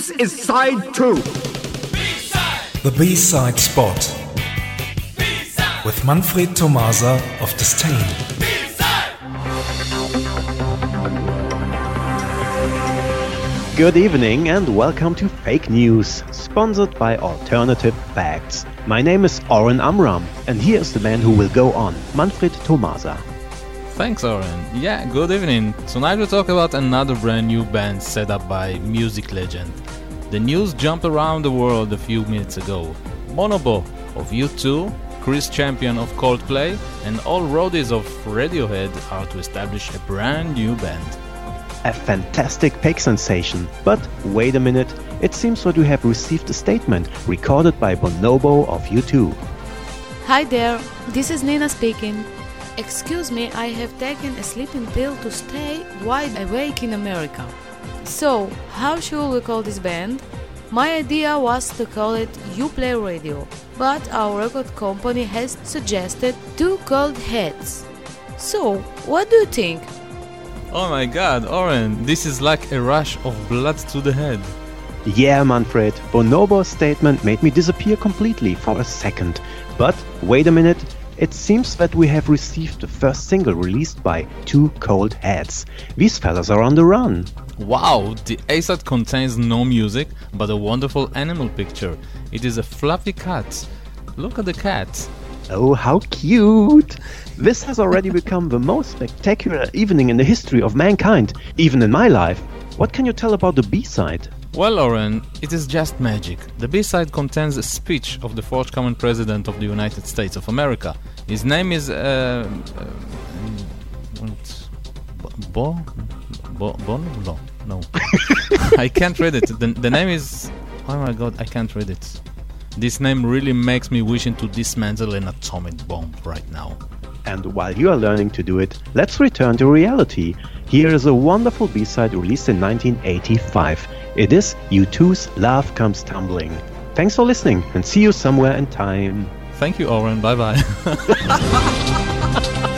This is side 2. B-side. The B-side spot B-side. with Manfred Tomasa of Disdain. B-side. Good evening and welcome to Fake News, sponsored by Alternative Facts. My name is Oren Amram, and here is the man who will go on, Manfred Tomasa. Thanks, Oren. Yeah, good evening. Tonight we'll talk about another brand new band set up by music legend. The news jumped around the world a few minutes ago. Bonobo of U2, Chris Champion of Coldplay, and all roadies of Radiohead are to establish a brand new band. A fantastic fake sensation, but wait a minute, it seems that we have received a statement recorded by Bonobo of U2. Hi there, this is Nina speaking. Excuse me, I have taken a sleeping pill to stay wide awake in America. So, how should we call this band? My idea was to call it You Play Radio, but our record company has suggested Two Cold Heads. So, what do you think? Oh my god, Oren, this is like a rush of blood to the head. Yeah, Manfred, Bonobo's statement made me disappear completely for a second. But wait a minute, it seems that we have received the first single released by Two Cold Heads. These fellas are on the run. Wow, the A-side contains no music, but a wonderful animal picture. It is a fluffy cat. Look at the cat. Oh, how cute! This has already become the most spectacular evening in the history of mankind, even in my life. What can you tell about the B-side? Well, Oren, it is just magic. The B-side contains a speech of the forthcoming President of the United States of America. His name is No. I can't read it. The name is... Oh my god, I can't read it. This name really makes me wishing to dismantle an atomic bomb right now. And while you are learning to do it, let's return to reality. Here is a wonderful B-side released in 1985. It is U2's Love Comes Tumbling. Thanks for listening and see you somewhere in time. Thank you, Oren. Bye-bye.